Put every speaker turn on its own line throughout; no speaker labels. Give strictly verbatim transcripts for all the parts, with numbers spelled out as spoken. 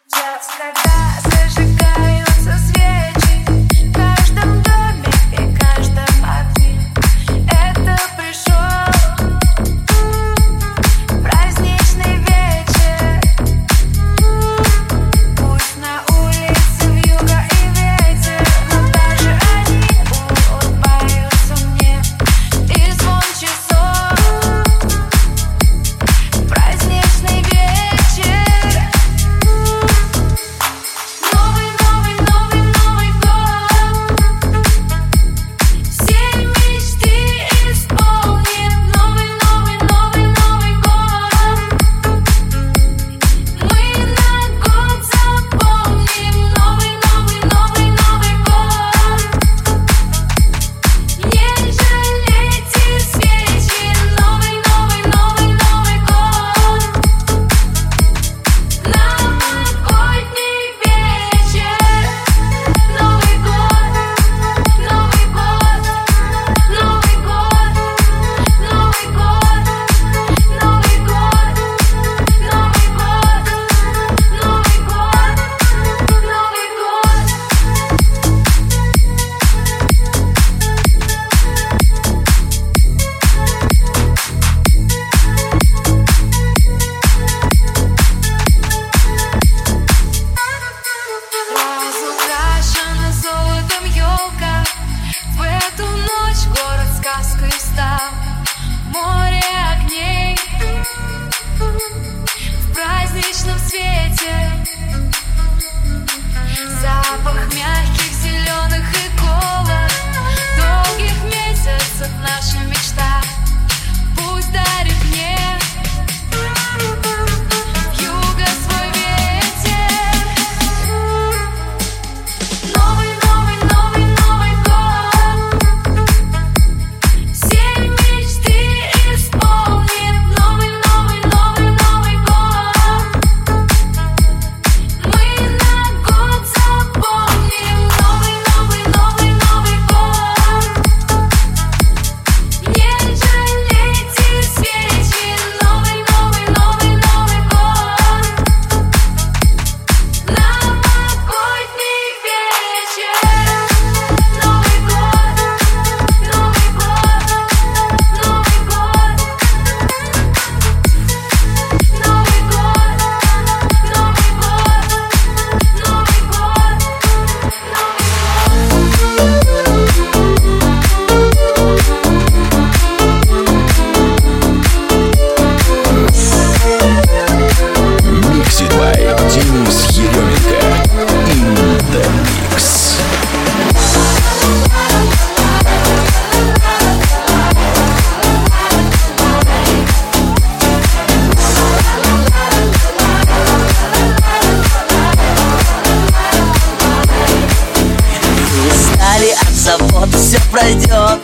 все пройдет.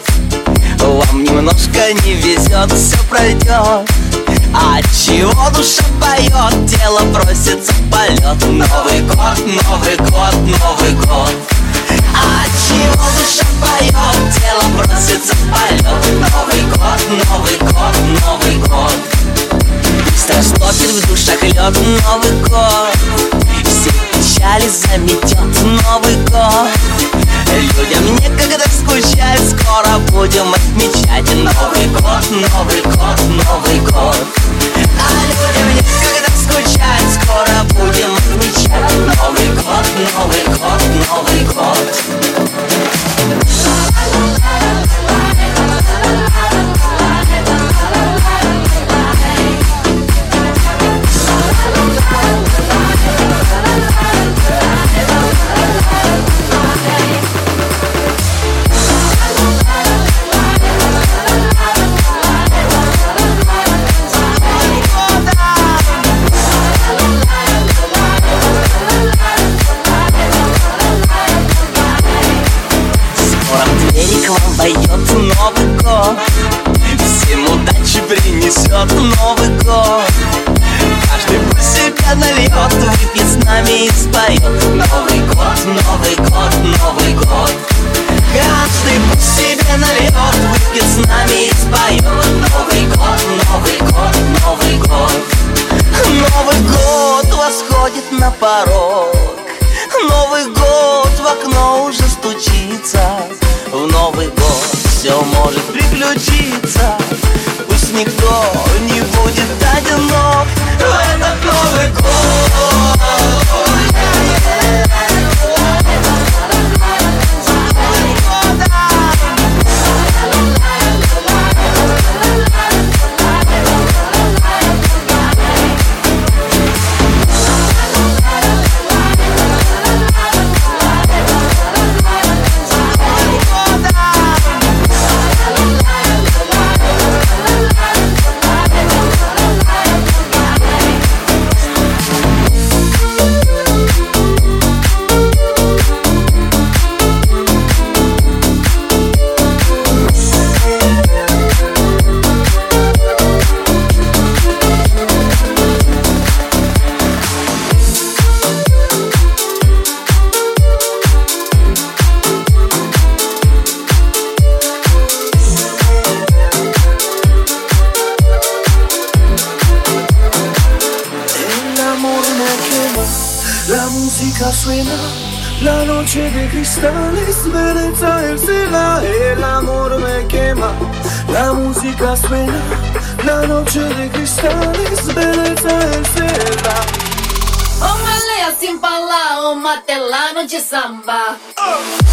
Вам немножко не везет, все пройдет. А чего душа поет, тело просится в полет. Новый год, Новый год, Новый год. А чего душа поет, тело просится в полет. Новый год, Новый год, Новый год. Быстро стопит в душах лед. Новый год, все печали заметет. Новый год, людям некогда скучать, скоро будем отмечать Новый год, Новый год, Новый год. А людям некогда скучать, скоро будем отмечать Новый год, Новый год, Новый год. Пойдет Новый год, всем удачи принесет Новый год. Каждый по себе нальет, выпьет с нами и споет Новый год, Новый год, Новый год. Каждый по себе нальет, выпьет с нами и споет Новый год, Новый год, Новый год. Новый год восходит на порог. порог. Новый год в окно уже стучится. В Новый год все может приключиться. Пусть никто не будет одинок в этот Новый год.
Suena la noche de cristales, belleza el cielo, el amor me quema. La música suena, la noche de cristales, belleza el cielo.
Ô Malé, assim pra lá, ô matelano de samba. Oh.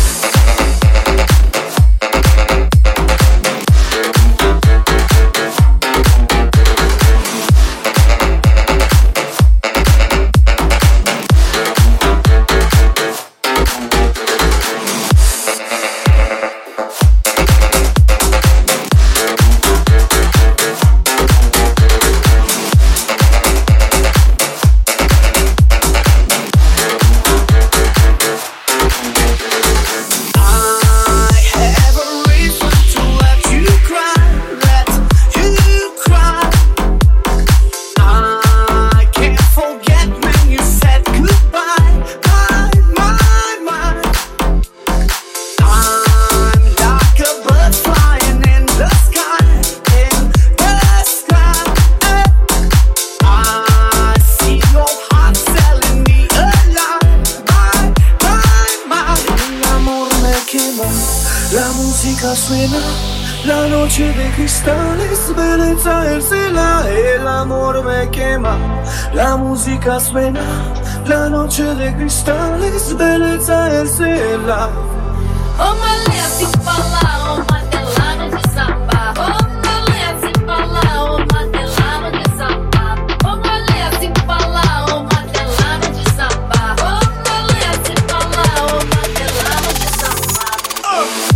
La noche de cristales, belleza el cielo, el amor me quema. La música suena, la noche de cristales, belleza el cielo.
Ô Malé, assim pra lá, ô matelano de samba. Ô Malé, assim pra lá, ô matelano de samba. Ô Malé, assim pra lá, ô matelano de samba. Ô Malé, assim pra lá, ô matelano de samba. Oh.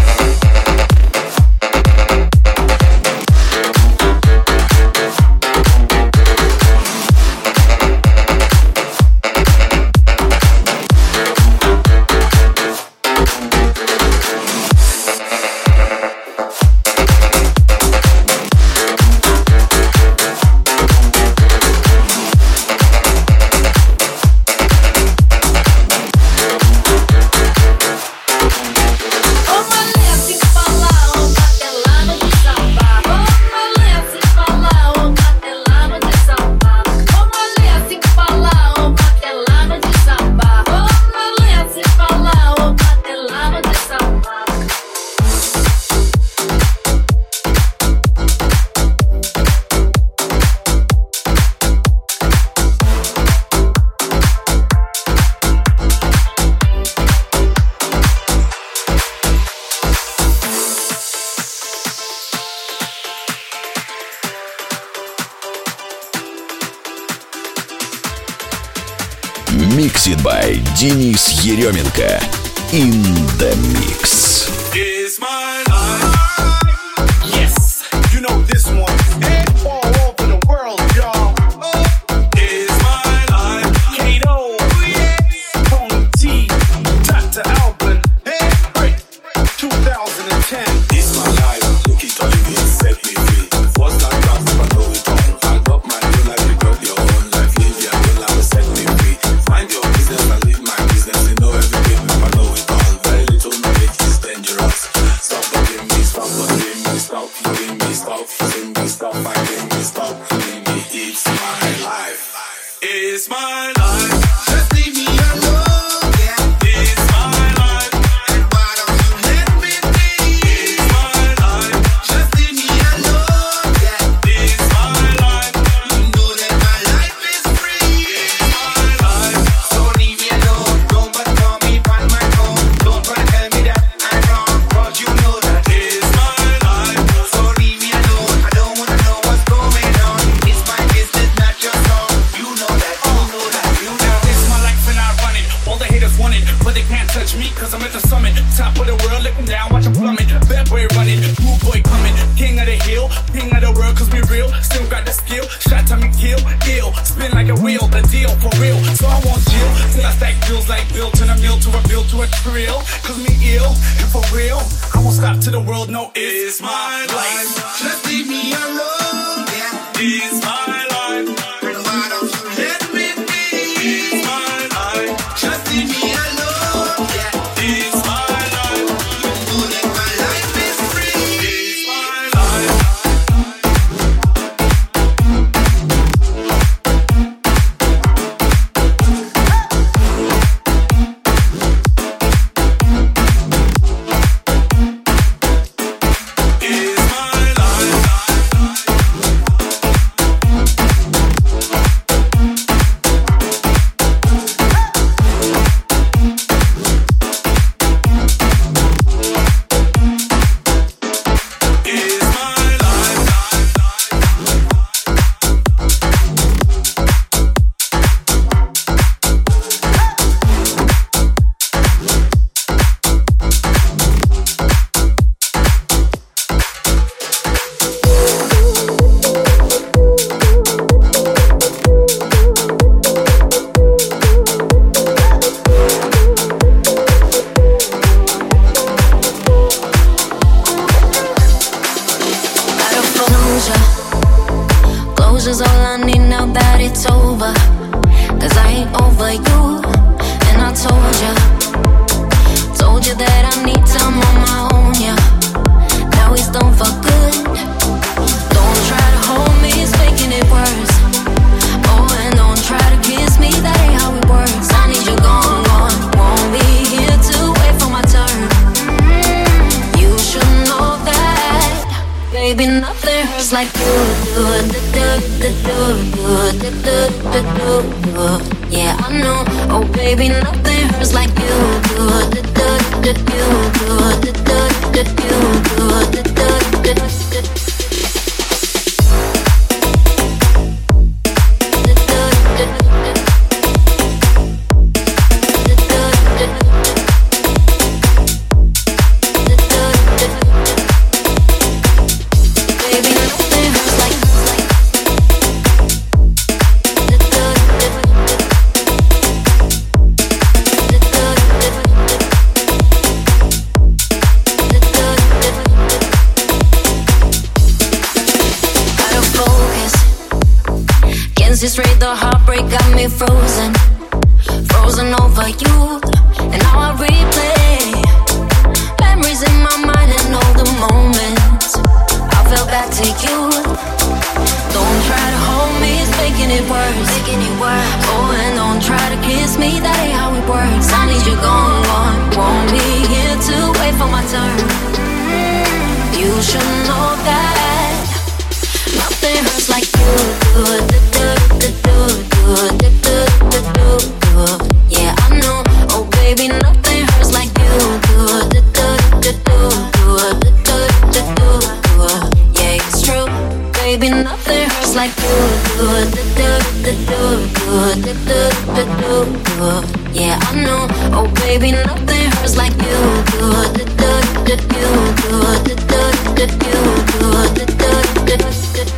Mixed by Денис Еременко. In the mix.
It's my life. Yes, you know this one. And all over the world, y'all. It's my life. Kato, Tony T, Doctor Alban, hey, hey, two thousand ten. It's my life. Look it all in it, set me free. First time dance, I know it all. I got my own life, you got your own life. Live your own life, set me free. Mind your business, I live my business. You know everything, I know it all. Very little knowledge is dangerous. Stop talking real, and for real, I won't stop till the world know it's my life.
Just leave me alone, yeah.
It's my life.
Why don't you let me be?
It's my life.
Just leave me alone, yeah.
It's my life.
You know that my life is free.
It's my life.
Closure's all I need now that it's over. Cause I ain't over you, and I told ya, told you that I need time on my own, yeah. Now he's done for good. Don't try to hold me, it's making it worse. Oh, and don't try to kiss me, that ain't how it works. I need you gone, gone. Won't be here to wait for my turn. You should know that, baby, nothing hurts like you do. Yeah, I know. Oh, baby, nothing hurts like you do. Straight, the heartbreak got me frozen, frozen over you, and now I replay memories in my mind and all the moments I fell back to you. Don't try to hold me, it's making it worse, making it worse. Oh, and don't try to kiss me, that ain't how it works. I need you gone, gone. Won't be here to wait for my turn. You should know that nothing hurts like you do. Yeah, I know. Oh, baby, nothing hurts like you do. Yeah, it's true. Baby, nothing hurts like you do. Yeah, I know. Oh, baby, nothing hurts like you do.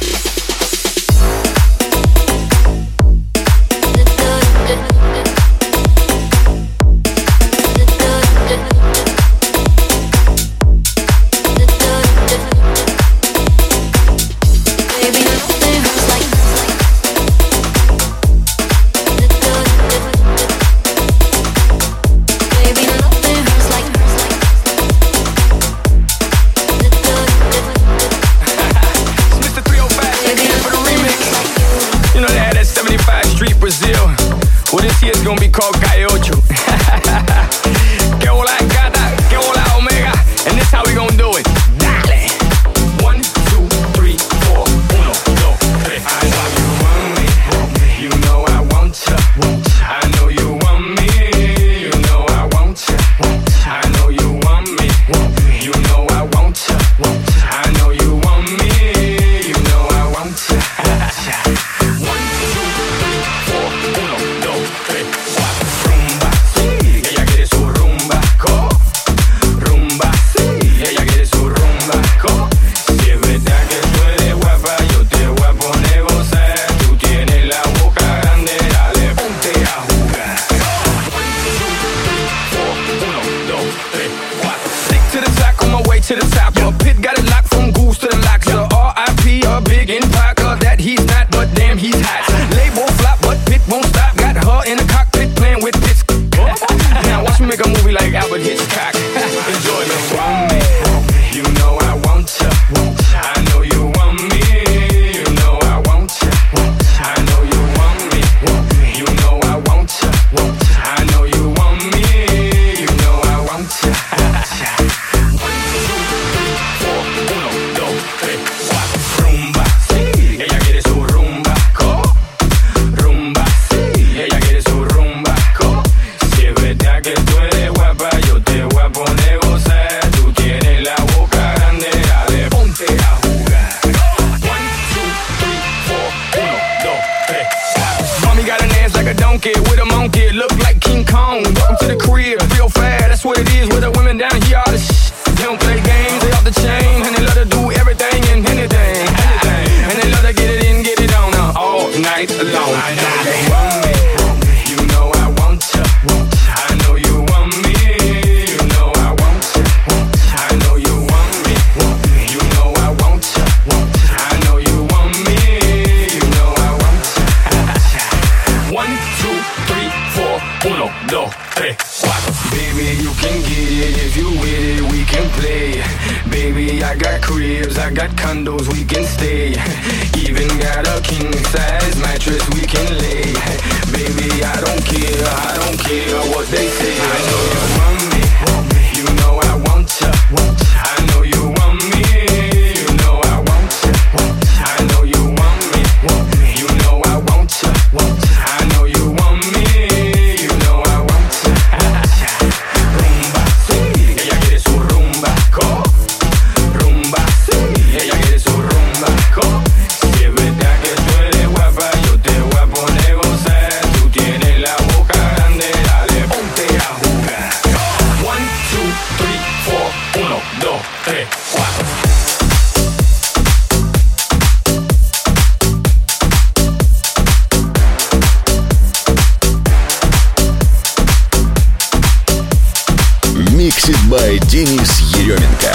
Gonna be called Calle Ocho. Que hola gata, que hola omega, and this how we gonna do it. Dale. One, two, three, four, uno, dos, tres. I know you want me, you know I want ya. I know you want me, you know I want ya. I know you want me, you know I want ya. I know you want me, you know I want ya. One, two, three, four, uno, dos, tres. Rumba, sí, ella quiere su rumba, co, rumba, sí, get look like King Kong. Welcome to the crib, real fast, that's what it is. With the women down here, all the shit. They don't play games, they off the chain, and they love to do everything and anything, anything. And they love to get it in, get it on uh, all night long. I know you want me, you know I want you. I know you want me, you know I want you. I know you want me, you know I want you. I know you want me, you know I want you. One, two, three, four, uno, dos, tres, cuatro. Baby, you can get it if you with it, we can play. Baby, I got cribs, I got condos, we can stay. Even got a king size mattress we can lay. Baby, I don't care, I don't care what they say. I know you want me, you know I want you. I know you want me, you know I want you. I know you want me, you know I want you. I know you want me, you know I want you. Rumba, sí, ella quiere su rumba, co. Rumba, sí, ella quiere su rumba, co. Si es verdad que tú eres guapa, yo te voy a poner gozar. Tú tienes la boca grande, dale, ponte a jugar. One, two, three, four, uno, dos, tres, cuatro.
Mixed by Денис Еременко.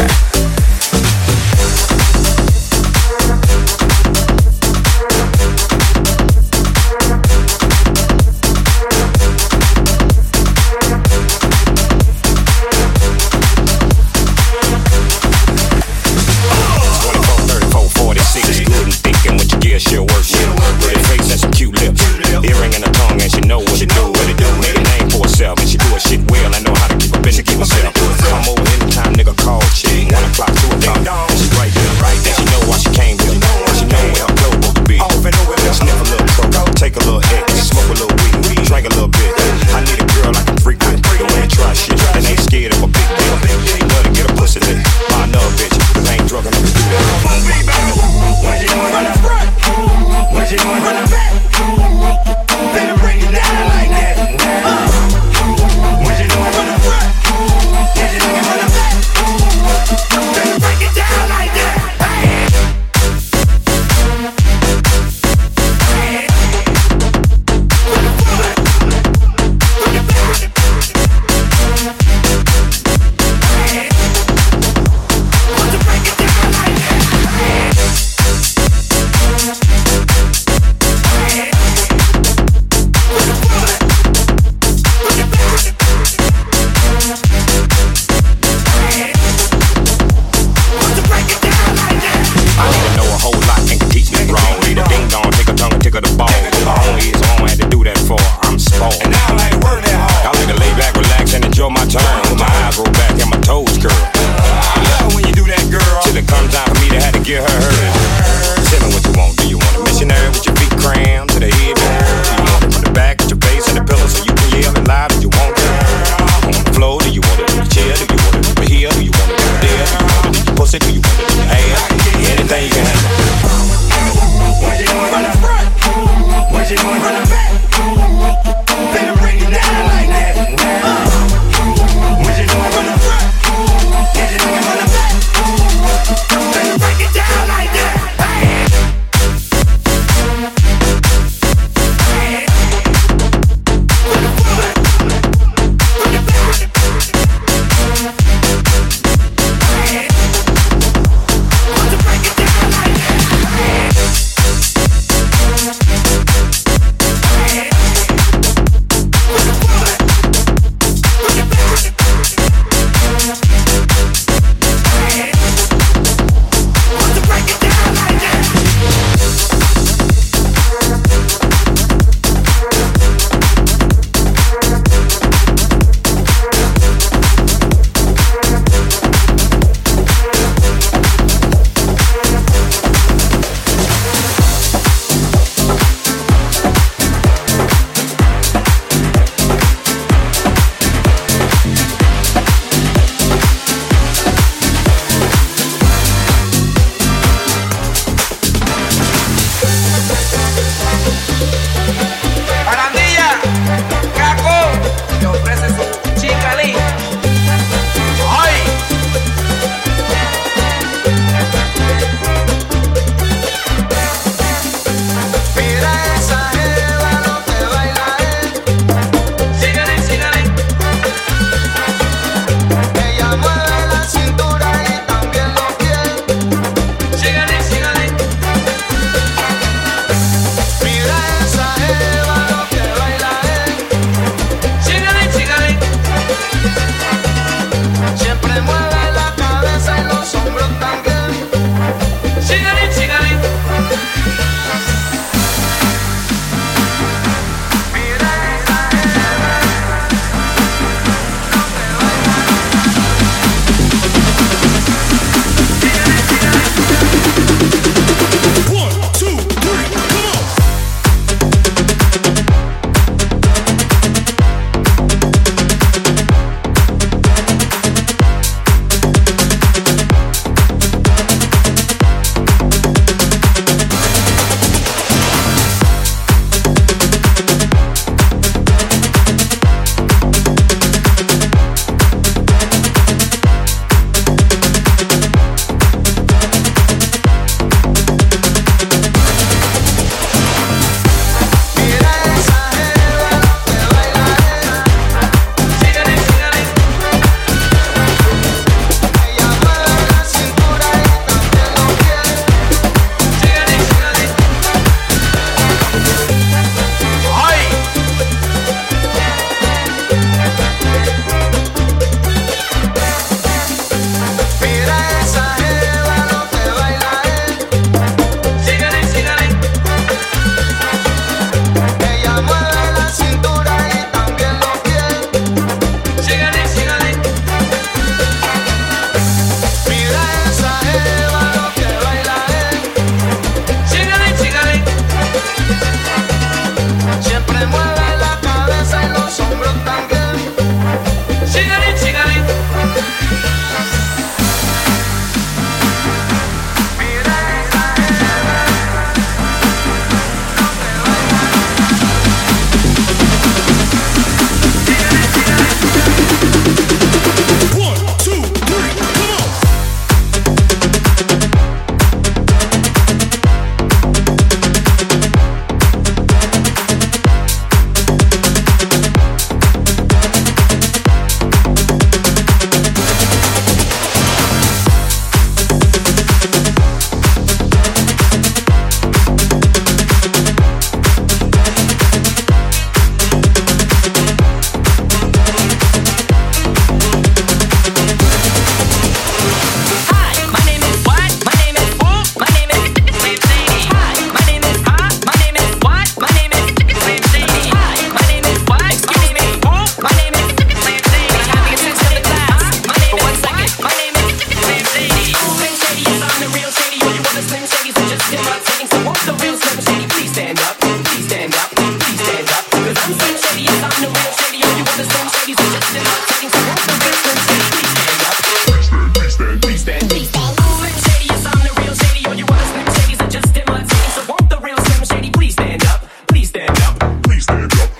shadies are just imitating. So won't the real Slim Shady please stand up? Please stand, please stand, please stand, please stand. Slim Shady, yes, I'm the real Shady. All you other Slim Shadys are just imitating. So won't the real Slim Shady please stand up? Please stand up, please stand up.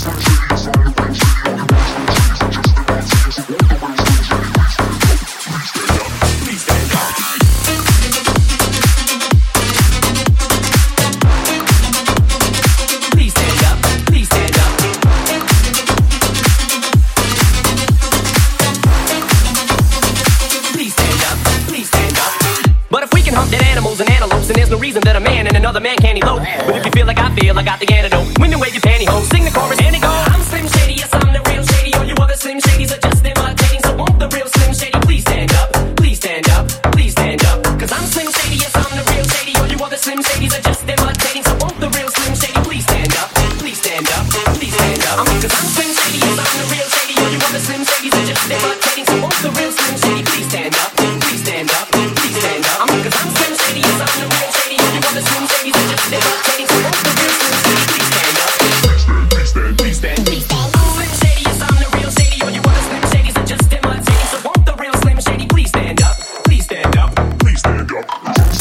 And there's no reason that a man and another man can't elope. But if you feel like I feel, I got the antidote. When you wave your pantyhose, sing the chorus and it goes. I'm Slim Shady, yes, I'm the real Shady. All you other Slim Shadys are just imitating. So won't the real Slim Shady please stand up? Please stand up, please stand up. Cause I'm Slim Shady, yes, I'm the real Shady. All you other Slim Shadys are just imitating. So won't the real Slim Shady please stand up? Please stand up, please stand up. Cause I'm Slim Shady, yes, I'm the real Shady. All you other Slim Shadys are just imitating. So won't the real Slim Shady please stand up? Please stand up, please stand up. Cause I'm Slim Shady, yes, I'm the real Shady. All you other Slim Shadys are just imitating. So won't the real Slim Shady please stand up? Please stand, please stand, please stand. Slim Shady, yes, I'm the real Shady. All you other Slim Shadys are just imitating. So won't the real Slim Shady please stand up? Please stand up, please stand up.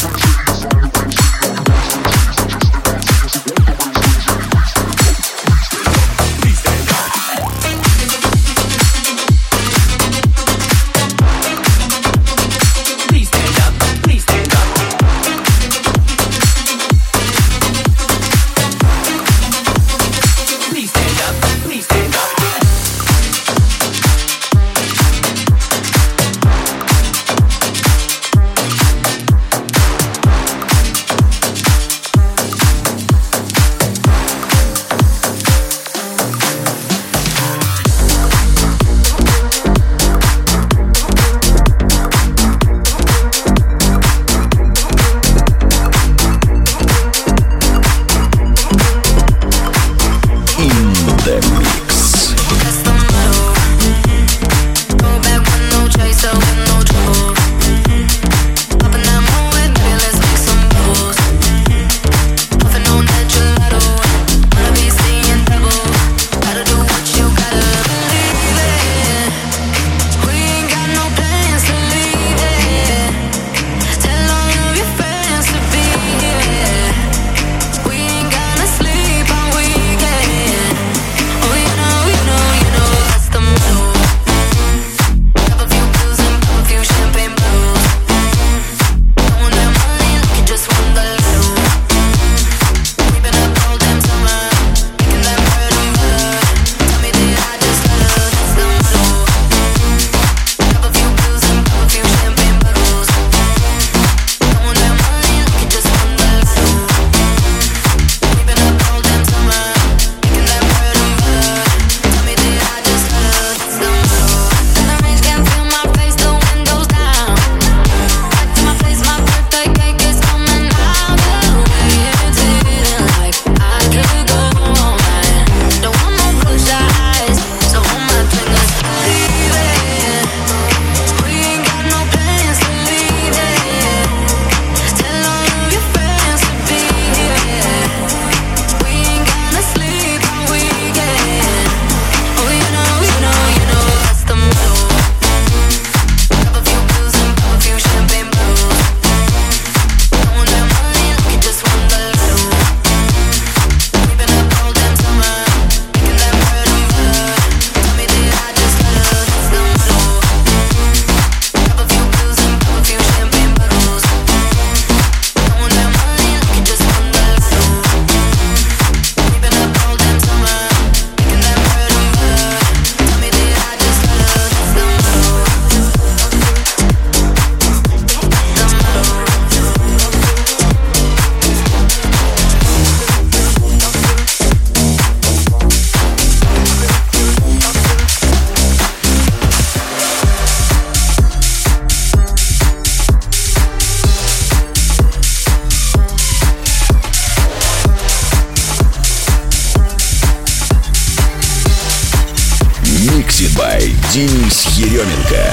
Денис Еременко.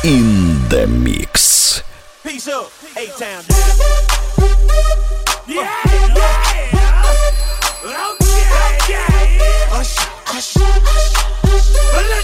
In the mix.
Peace up, A-Town. Yeah, yeah. Okay, yeah. Hush, hush, hush. But let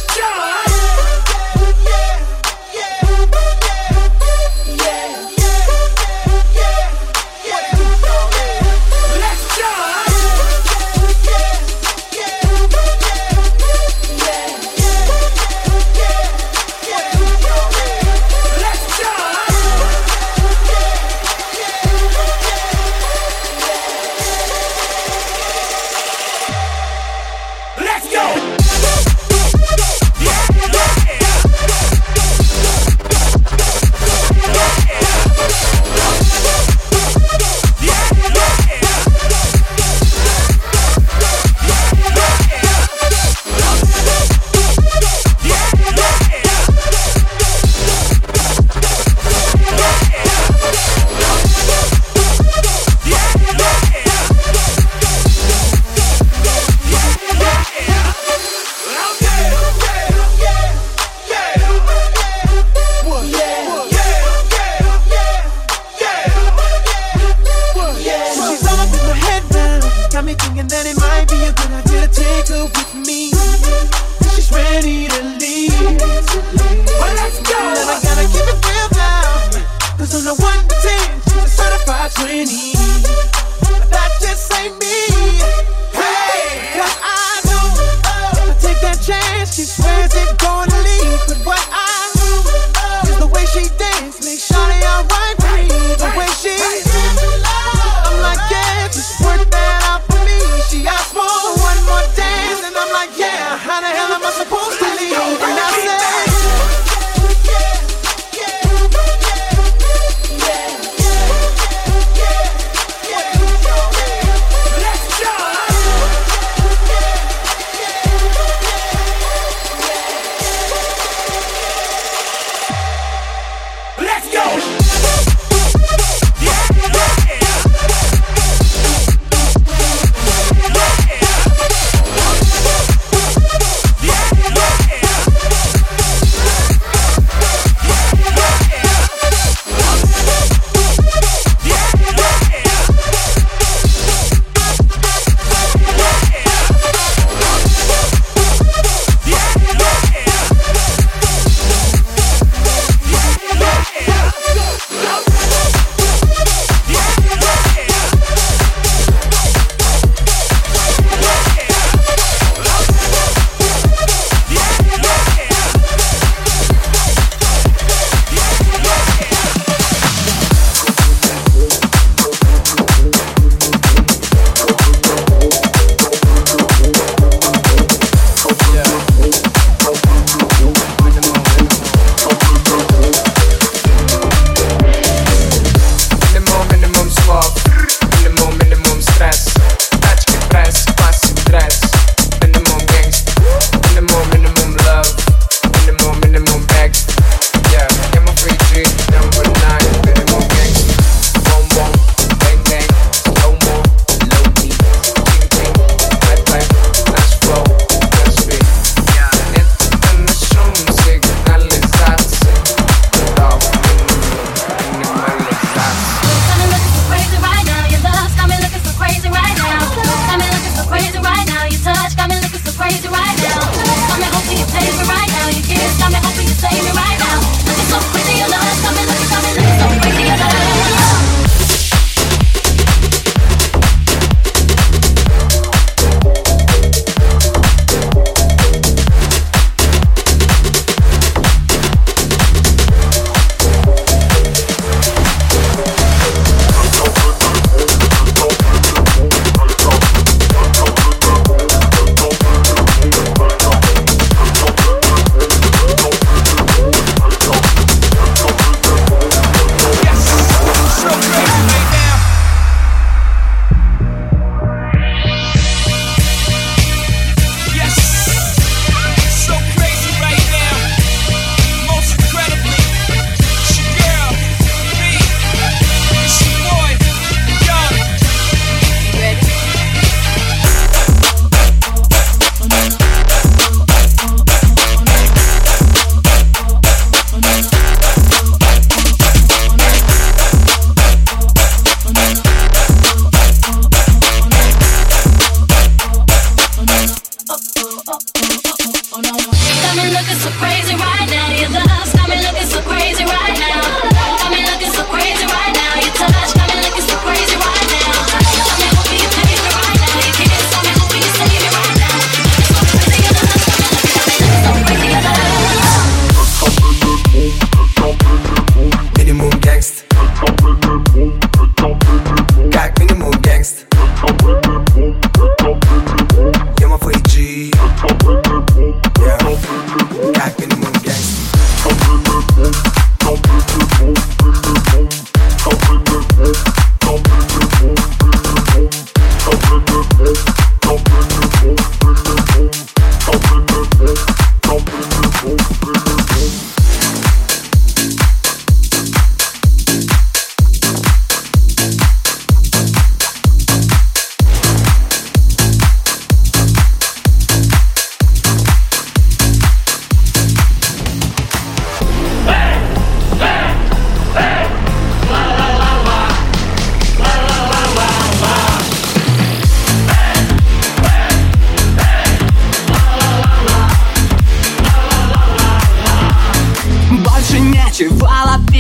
Got me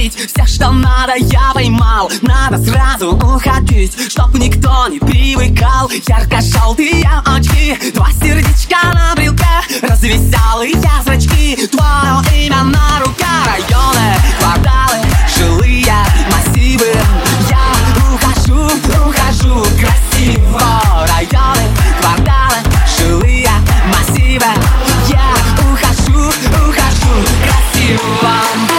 пить. Все, что надо, я поймал. Надо сразу уходить, чтоб никто не привыкал. Ярко-желтые очки, два сердечка на брелке, развеселые зрачки, твое имя на руке. Районы, кварталы, жилые массивы. Я ухожу, ухожу красиво. Районы, кварталы, жилые массивы. Я ухожу, ухожу красиво.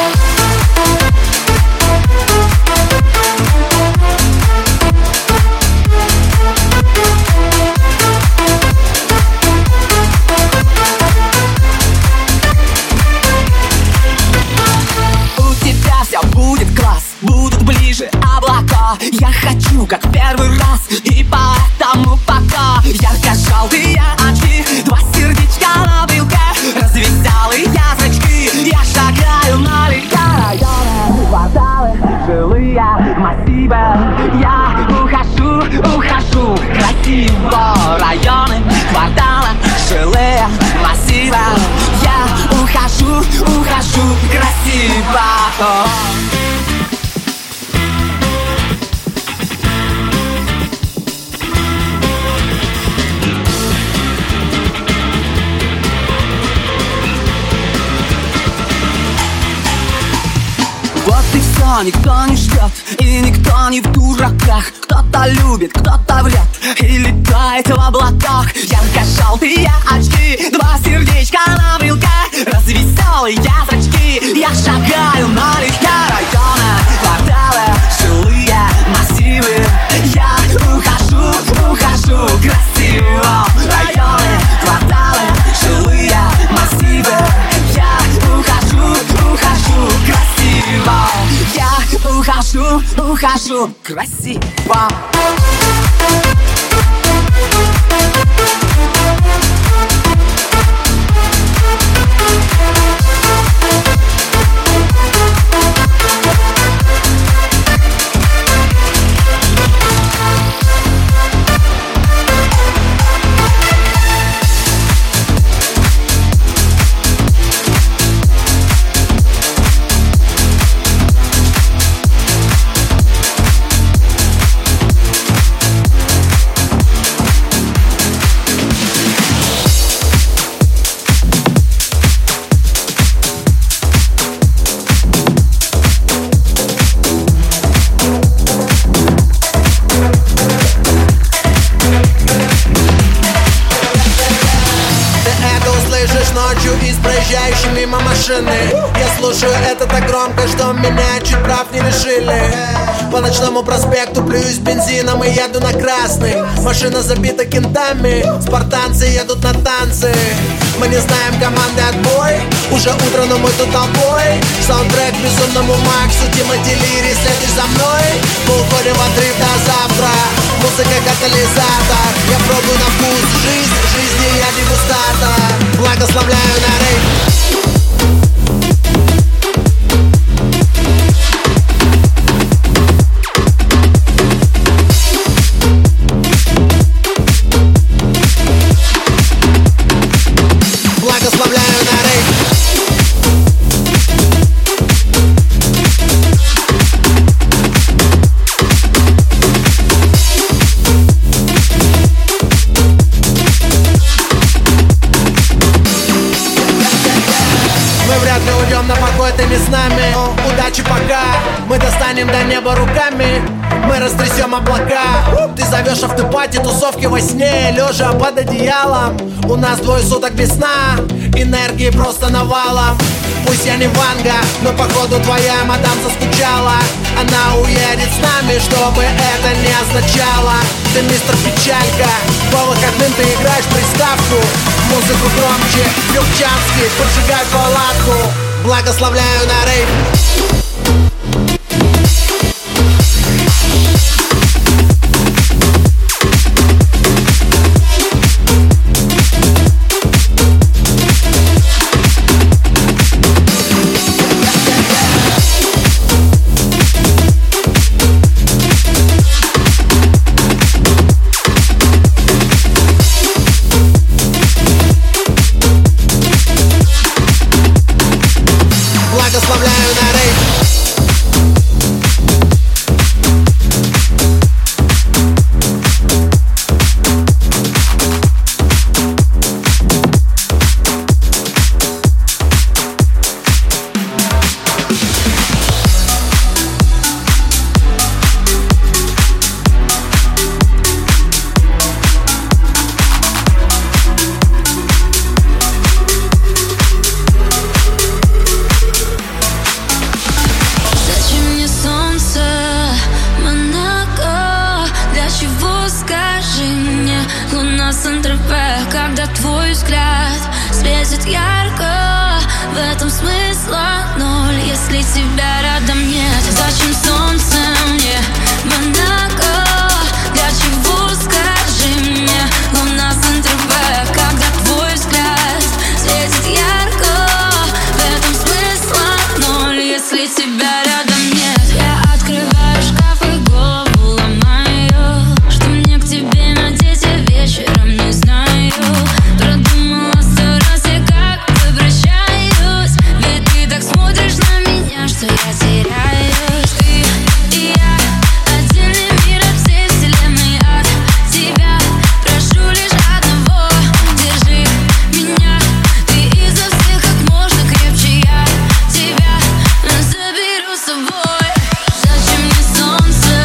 Будет класс, будут ближе облака. Я хочу, как первый раз, и поэтому пока. Ярко-желтые очки, два сердечка на брелке, развеселые зрачки. Я шагаю налегке. Районы, кварталы, жилые массивы. Я ухожу, ухожу красиво. Районы, кварталы, жилые массивы. Я ухожу, ухожу красиво. Вот и все, никто не ждет, и никто не в дураках. Кто-то любит, кто-то врет и летает в облаках. Ярко-желтые очки, два сердечка на брелке, развеселые зрачки. Я шагаю налегке. Районы, кварталы, жилые массивы. Я ухожу, ухожу красиво. Районы, кварталы, жилые массивы. Я ухожу, ухожу красиво. Я ухожу, ухожу красиво.
Из проезжающей мимо машины. Я слушаю это так громко, что меня чуть прав не лишили. По ночному проспекту плююсь бензином и еду на красный. Машина забита кентами, спартанцы едут на танцы. Мы не знаем команды отбой, уже утро, но мы тут толпой. Саундтрек безумному Максу, Дима Делири, следишь за мной. Мы уходим в отрыв до завтра, музыка катализатор. Я пробую на вкус жизнь, жизни я дегустатор. Благословляю на рейв. Благословляю на рейв. Мы вряд ли уйдем на покой, ты не с нами. Но удачи пока, мы достанем до неба руками. Мы растрясем облака. Ты зовешь автопати, тусовки во сне, лежа под одеялом. У нас двое суток без сна, энергии просто навалом. Пусть я не Ванга, но походу твоя мадам заскучала. Она уедет с нами, что бы это ни означало. Ты мистер Печалька, по выходным ты играешь приставку. Музыку громче, Любчанский, поджигай палатку. Благословляю на рейв. Благословляю на рейв.
светит ярко, в этом смысла ноль, если тебя рядом нет. Зачем солнце мне в Монако? Для чего, скажи мне, луна с эн тэ вэ, когда твой взгляд светит ярко, в этом смысла ноль, если тебя рядом нет. Я открываю шкаф и голову ломаю, что мне к тебе надеть я вечером не знаю. Продумала сто раз я как возвращаюсь, ведь ты так смотришь на меня, что я теряюсь. Ты и я, отдельный мир от всей вселенной, от тебя прошу лишь одного. Держи меня, ты изо всех как можно крепче, я тебя заберу с собой. Зачем мне солнце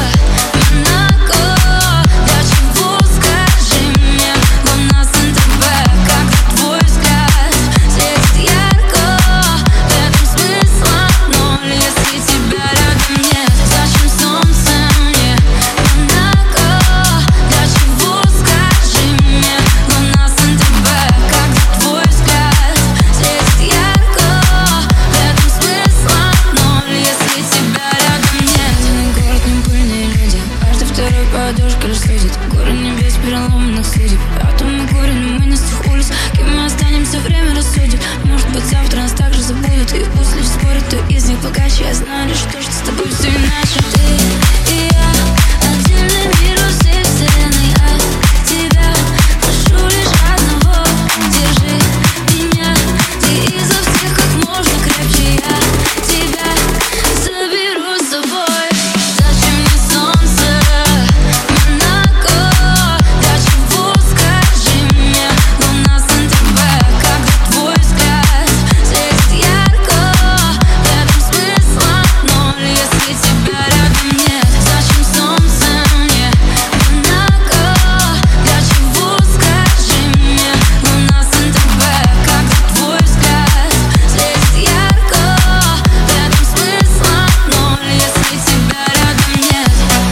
в Монако? Для чего, скажи мне, луна с эн тэ вэ, когда твой взгляд светит ярко, в этом смысла ноль, если тебя рядом нет. Зачем солнце мне в Монако? Для чего, скажи мне, луна с эн тэ вэ, когда твой взгляд светит ярко, в этом смысла ноль, если тебя рядом нет. Один город, не пыльные люди, каждый второй подушка лишь судит. Горы небес, переломанных судеб, атомы корень, мы не с тех улиц. Кем мы останемся, время рассудит. Может быть, завтра нас также забудут, и пусть лишь спорят, кто из них богаче. Я знаю лишь то, что с тобой все иначе. Ты и я, отдельный мир от всей вселенной, от тебя прошу лишь одного. Держи меня, ты изо всех как можно крепче, я тебя заберу с собой. Зачем мне солнце в Монако? Для чего, скажи мне, луна с эн тэ вэ, когда твой взгляд светит ярко, в этом смысла ноль, если тебя рядом нет. Зачем солнце мне в Монако? Для чего, скажи мне, луна с эн тэ вэ, когда твой взгляд светит ярко, в этом смысла ноль, если тебя рядом нет.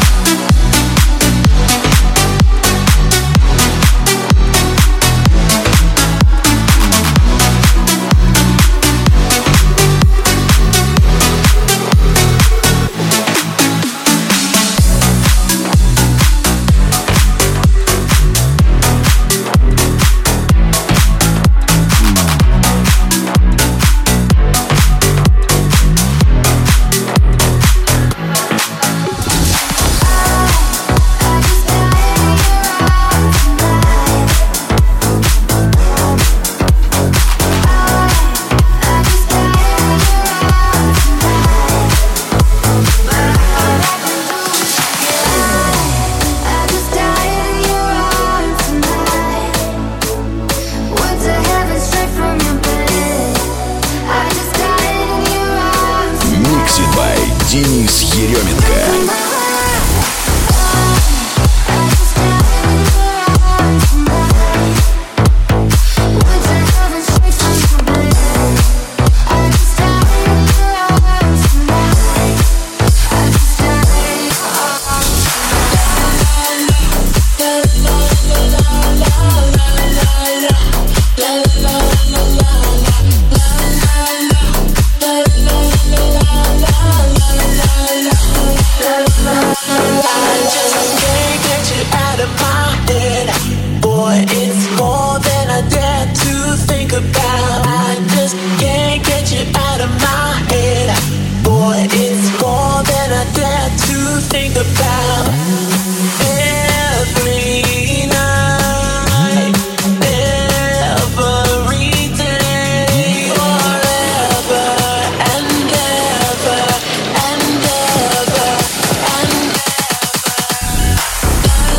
Mixed by Денис Еременко.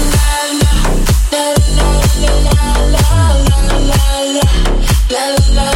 La la la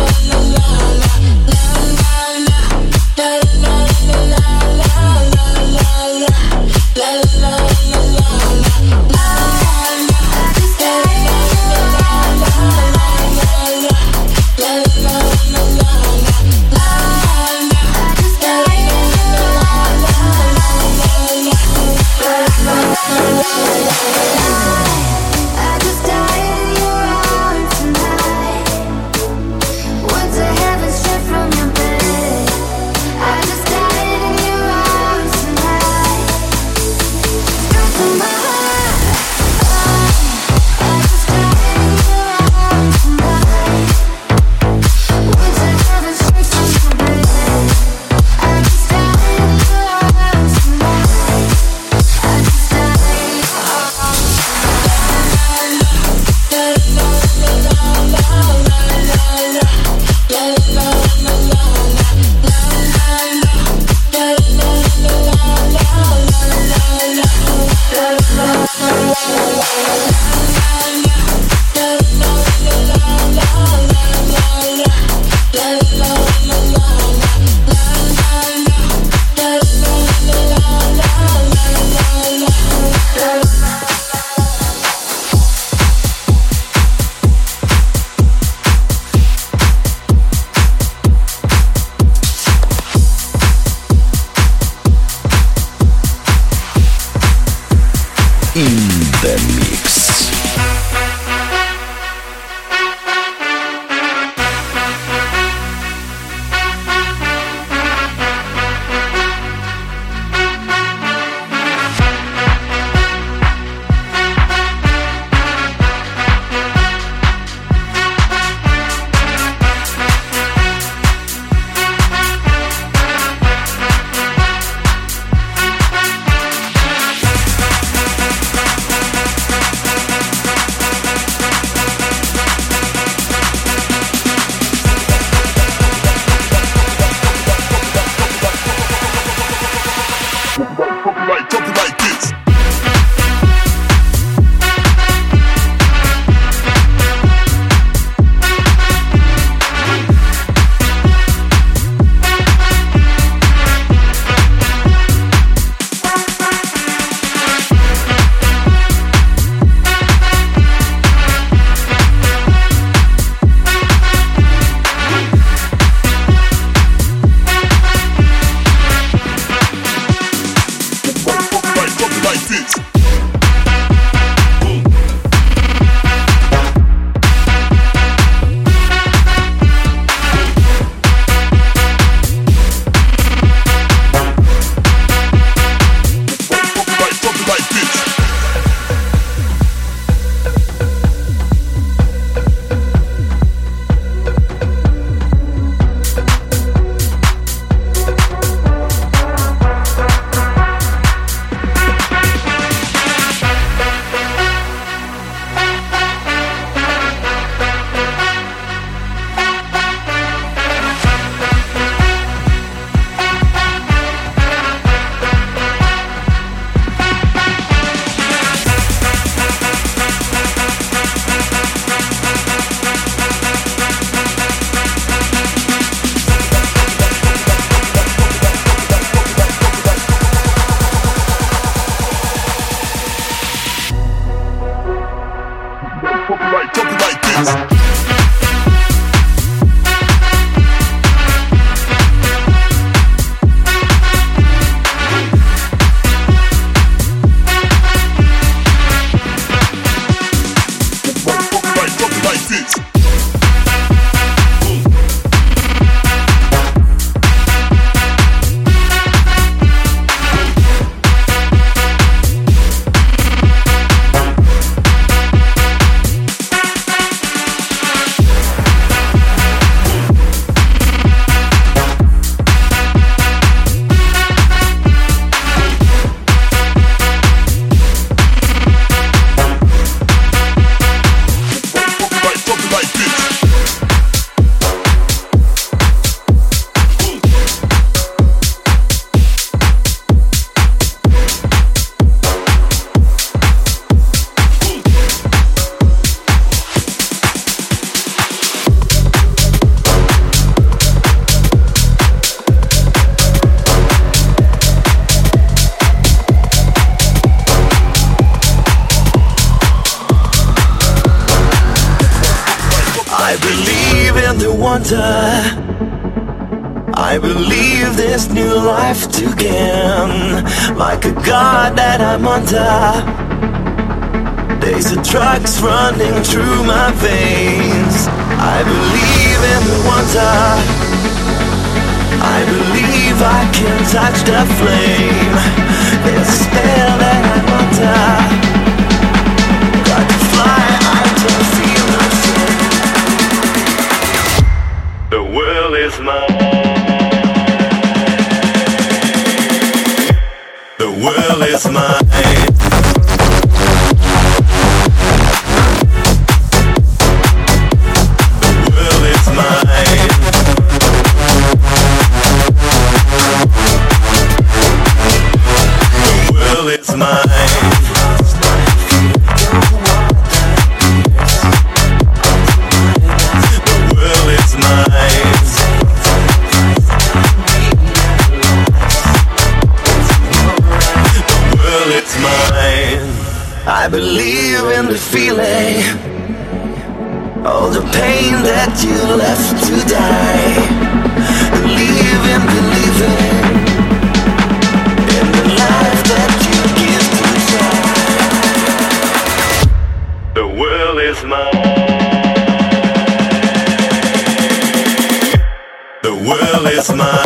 wonder. I believe there's new life to gain, like a god that I'm under. There's a drugs running through my veins. I believe in the wonder. I believe I can touch the flame. There's a spell that I'm under. Got to fly, I don't feel nothing. The world is mine. The world is mine. I believe in the feeling, all the pain that you left to die. Believe in believing in the life that you give to try. The world is mine. The world is mine.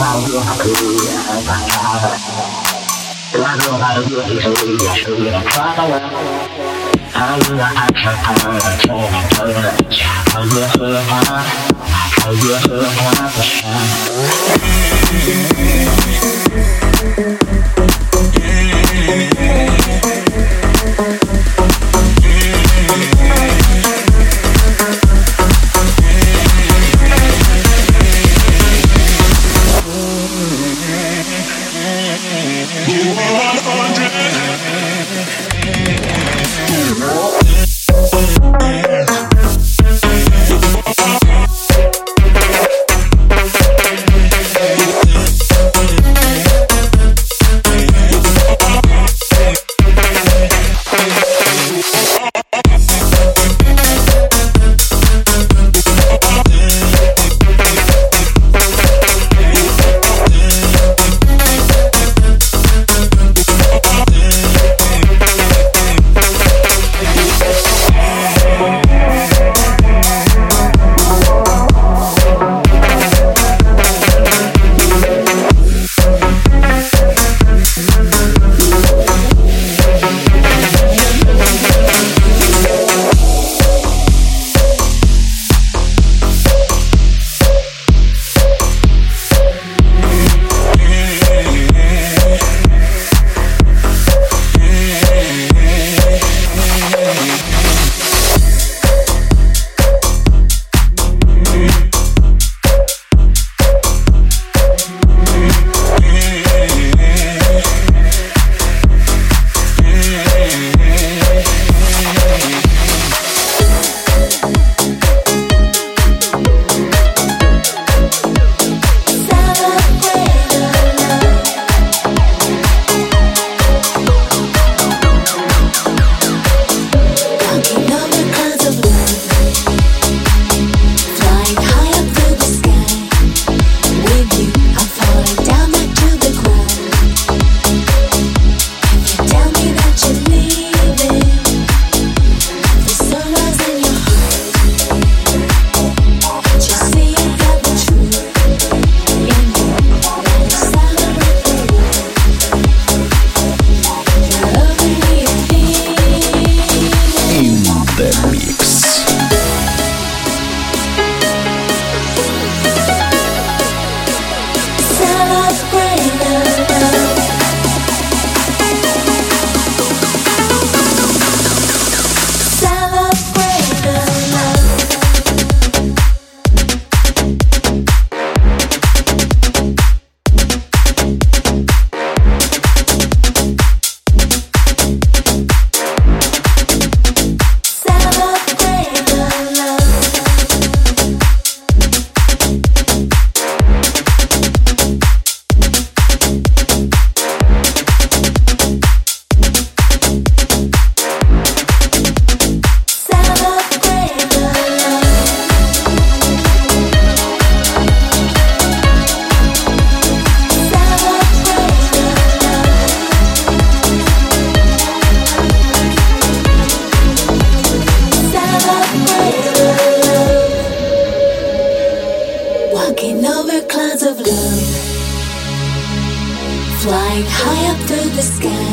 Flying high up through the sky.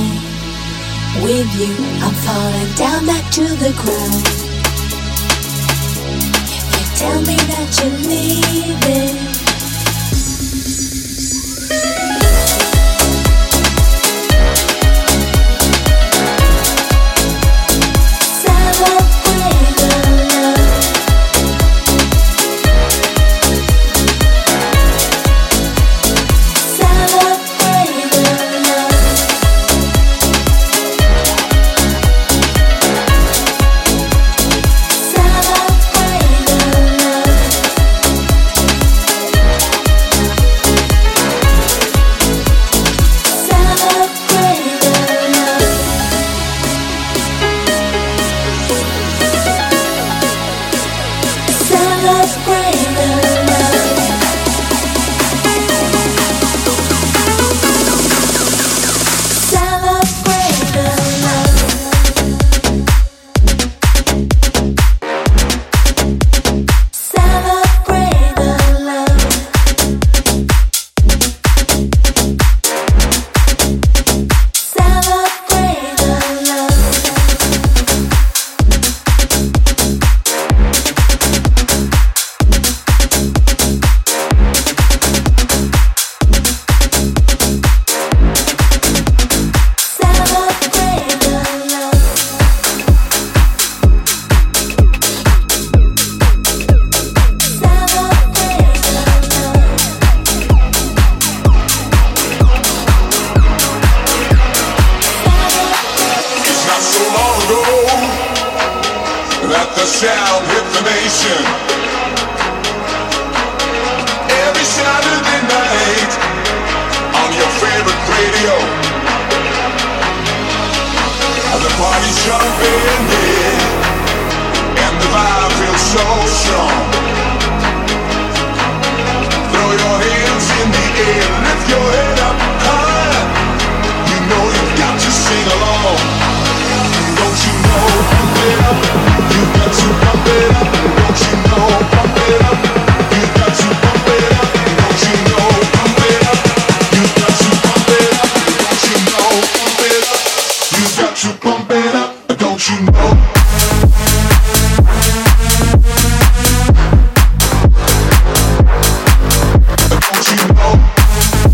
With you, I'm falling down back to the ground. You tell me that you're leaving.
air, lift your head up higher. You know you got to sing along. Don't you know, pump it up. You got to pump it up. Don't you know, pump it up. You got to pump it up. Don't you know, pump it up. You got to pump it up. Don't you know, pump it up. You got to pump it up. Don't you know? Don't you know?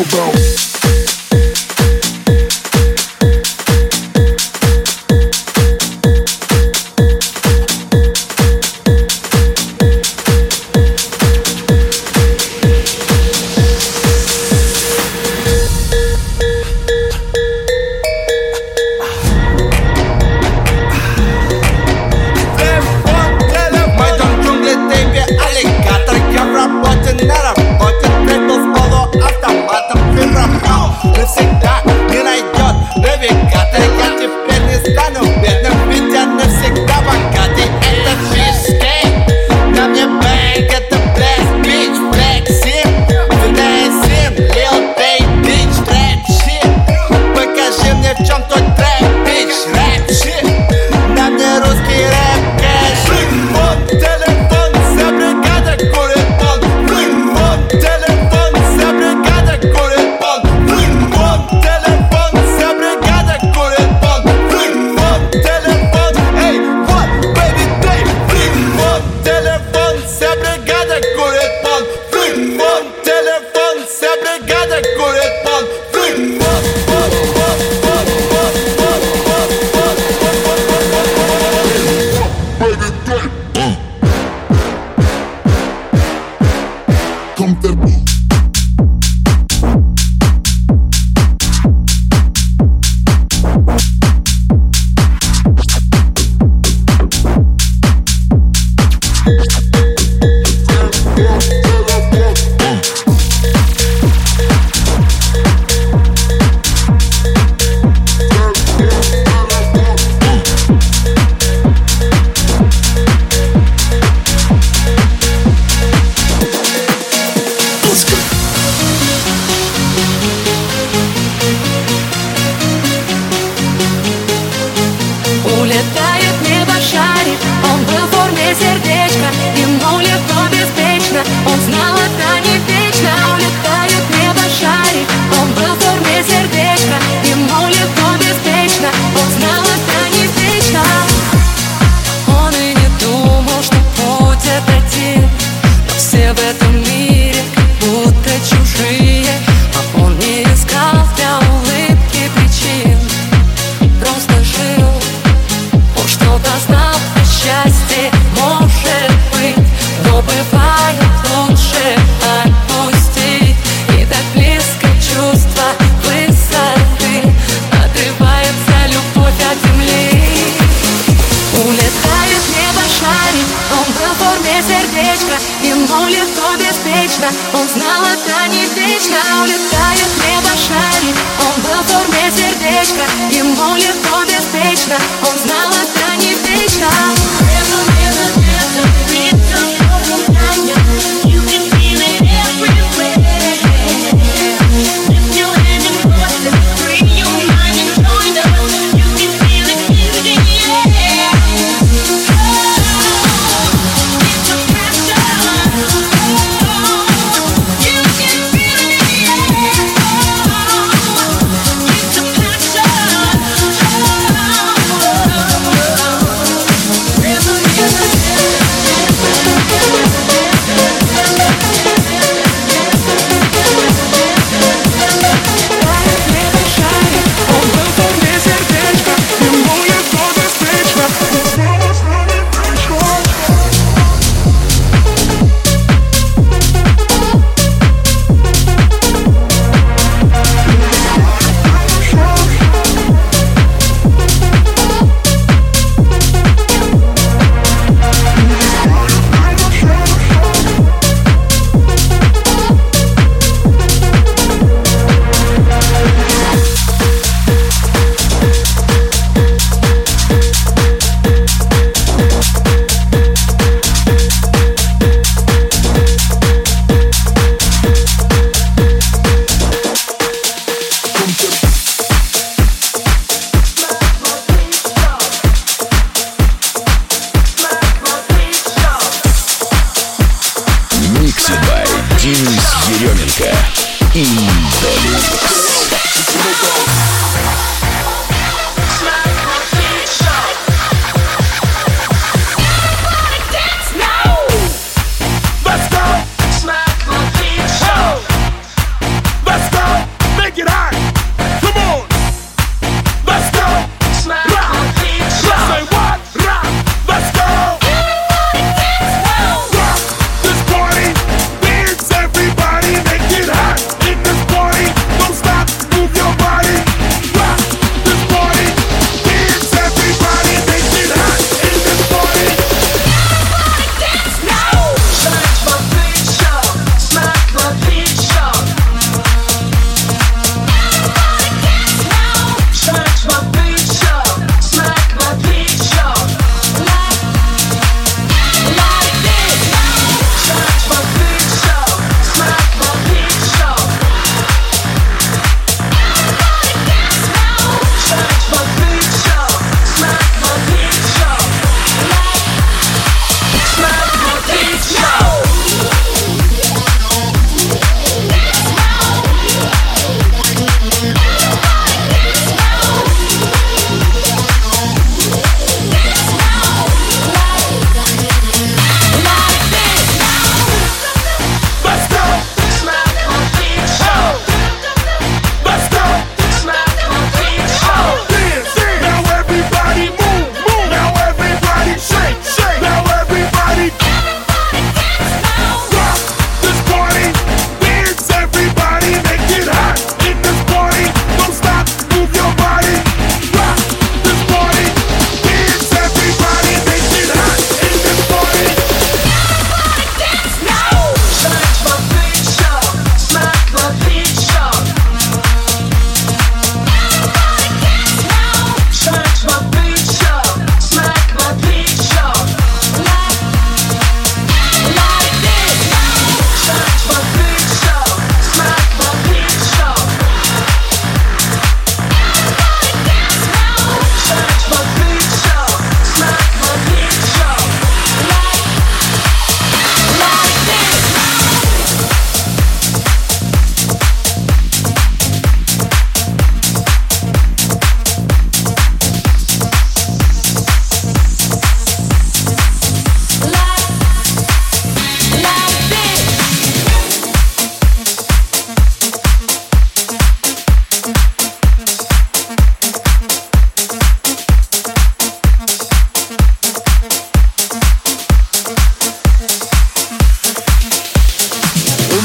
about.
Он знал, это не вечно. Улетает в небо шарик. Он был в форме сердечка. Ему легко, беспечно. Он знал, это не вечно. You can feel it everywhere. Lift your hand and cross it. Free your mind and join us. You can feel it in the air. Oh, it's a passion.
Еременко и Деликс.
Let's go!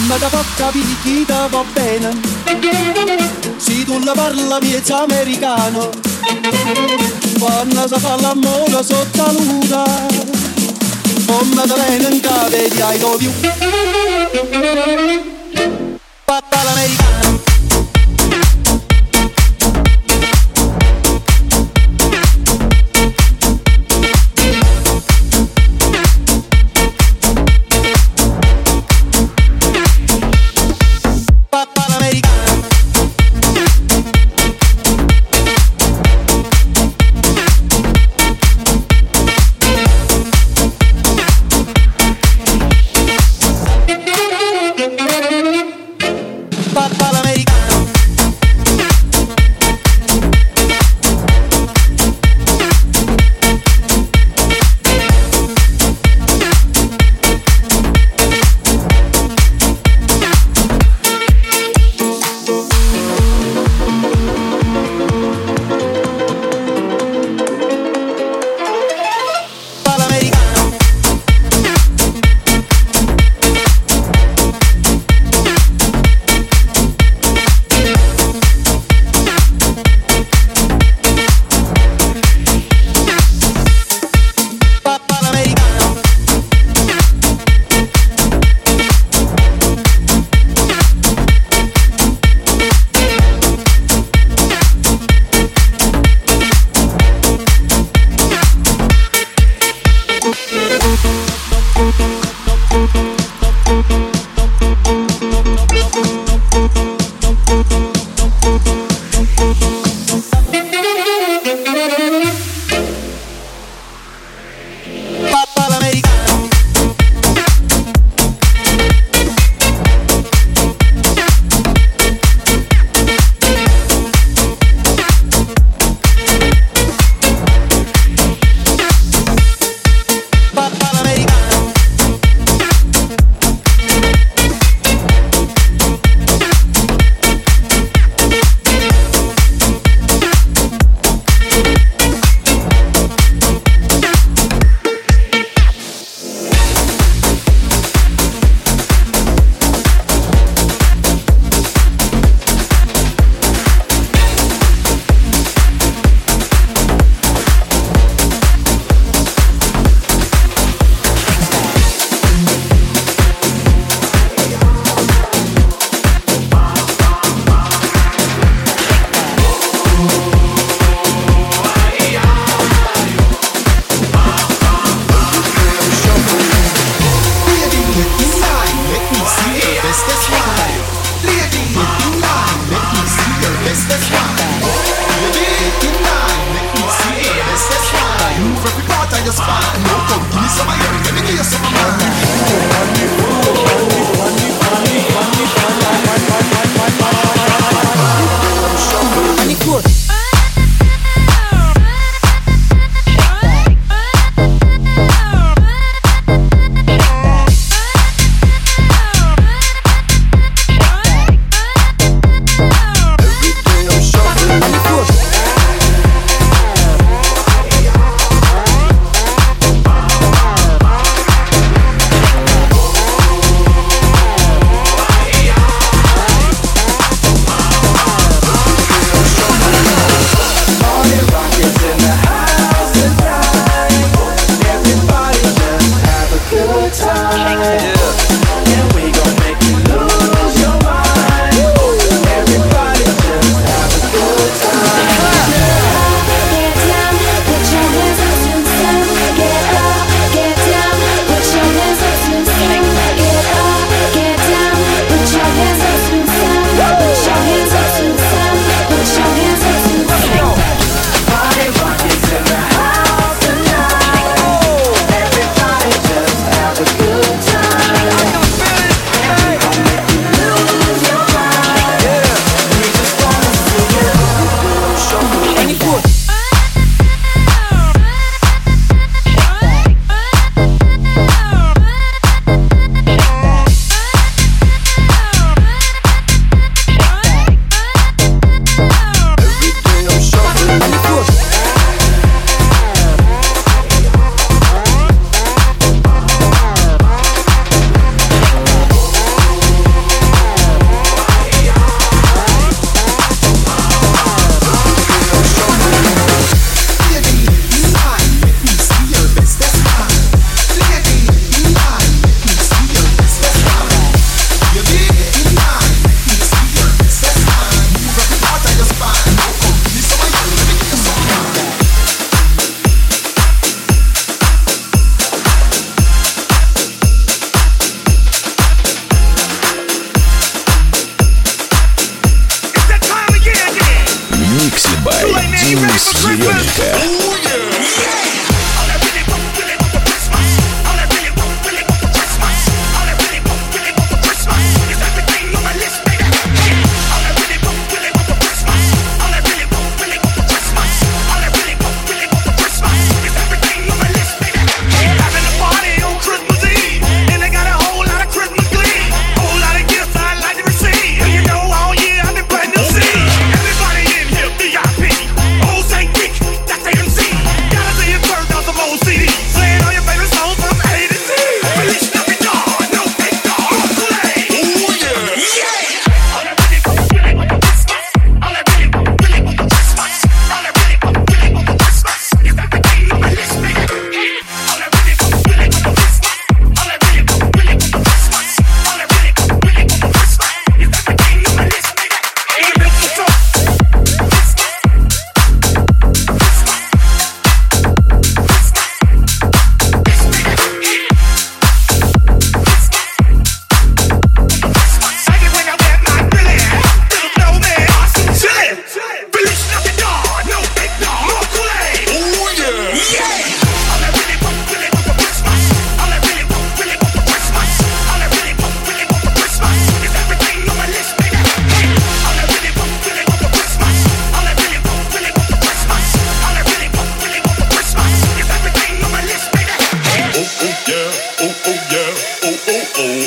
mamma da fa capire chi ti va bene. Se tu la parla miezza americano, quando si fa l'amore sotto la luna, come te viene in cave di I love you. Papà l'americano.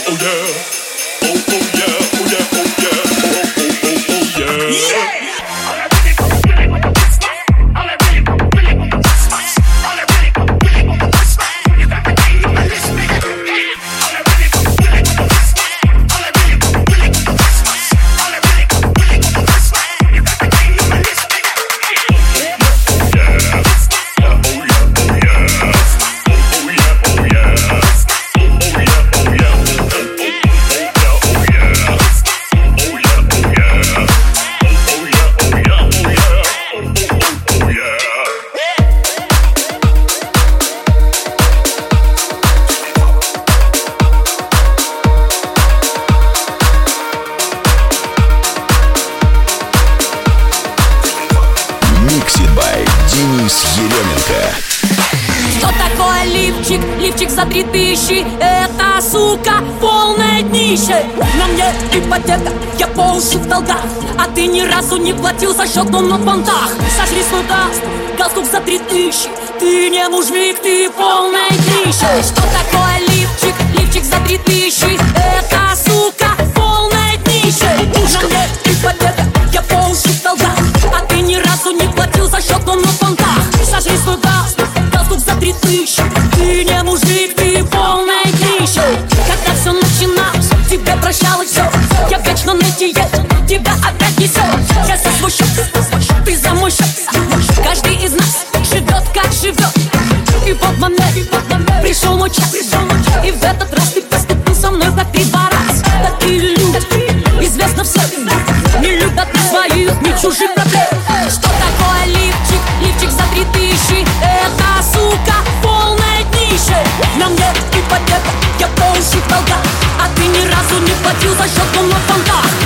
Лифчик за три тысячи, это, сука, полное днище. На мне ипотека, я по уши в долгах, а ты ни разу не платил за счет дом на понтах. Сожри свой даст, галстук за три тысячи, ты не мужик, ты полное днище. Что такое лифчик? Лифчик за три тысячи, это, сука, полное днище. На мне ипотека, я по уши в долгах, а ты ни разу не платил за счет дом на понтах. Сожри свой даст, галстук за три тысячи, ты не мужик, ты полное днище. Когда все начиналось, тебе прощалось все, я вечно на диете, тебя опять несет. Я за свой счет, ты за мой счет, каждый из нас живет как живет. И вот момент, пришел мой час, и в этот раз ты поступил со мной как три раз. Такие люди, известно всем, не любят ни своих, ни чужих проблем. Что такое лифчик? Лифчик за три тысячи, это, сука, полное днище. На мне ипотека, я по уши в долгах, а ты ни разу не платил за счет дом на понтах.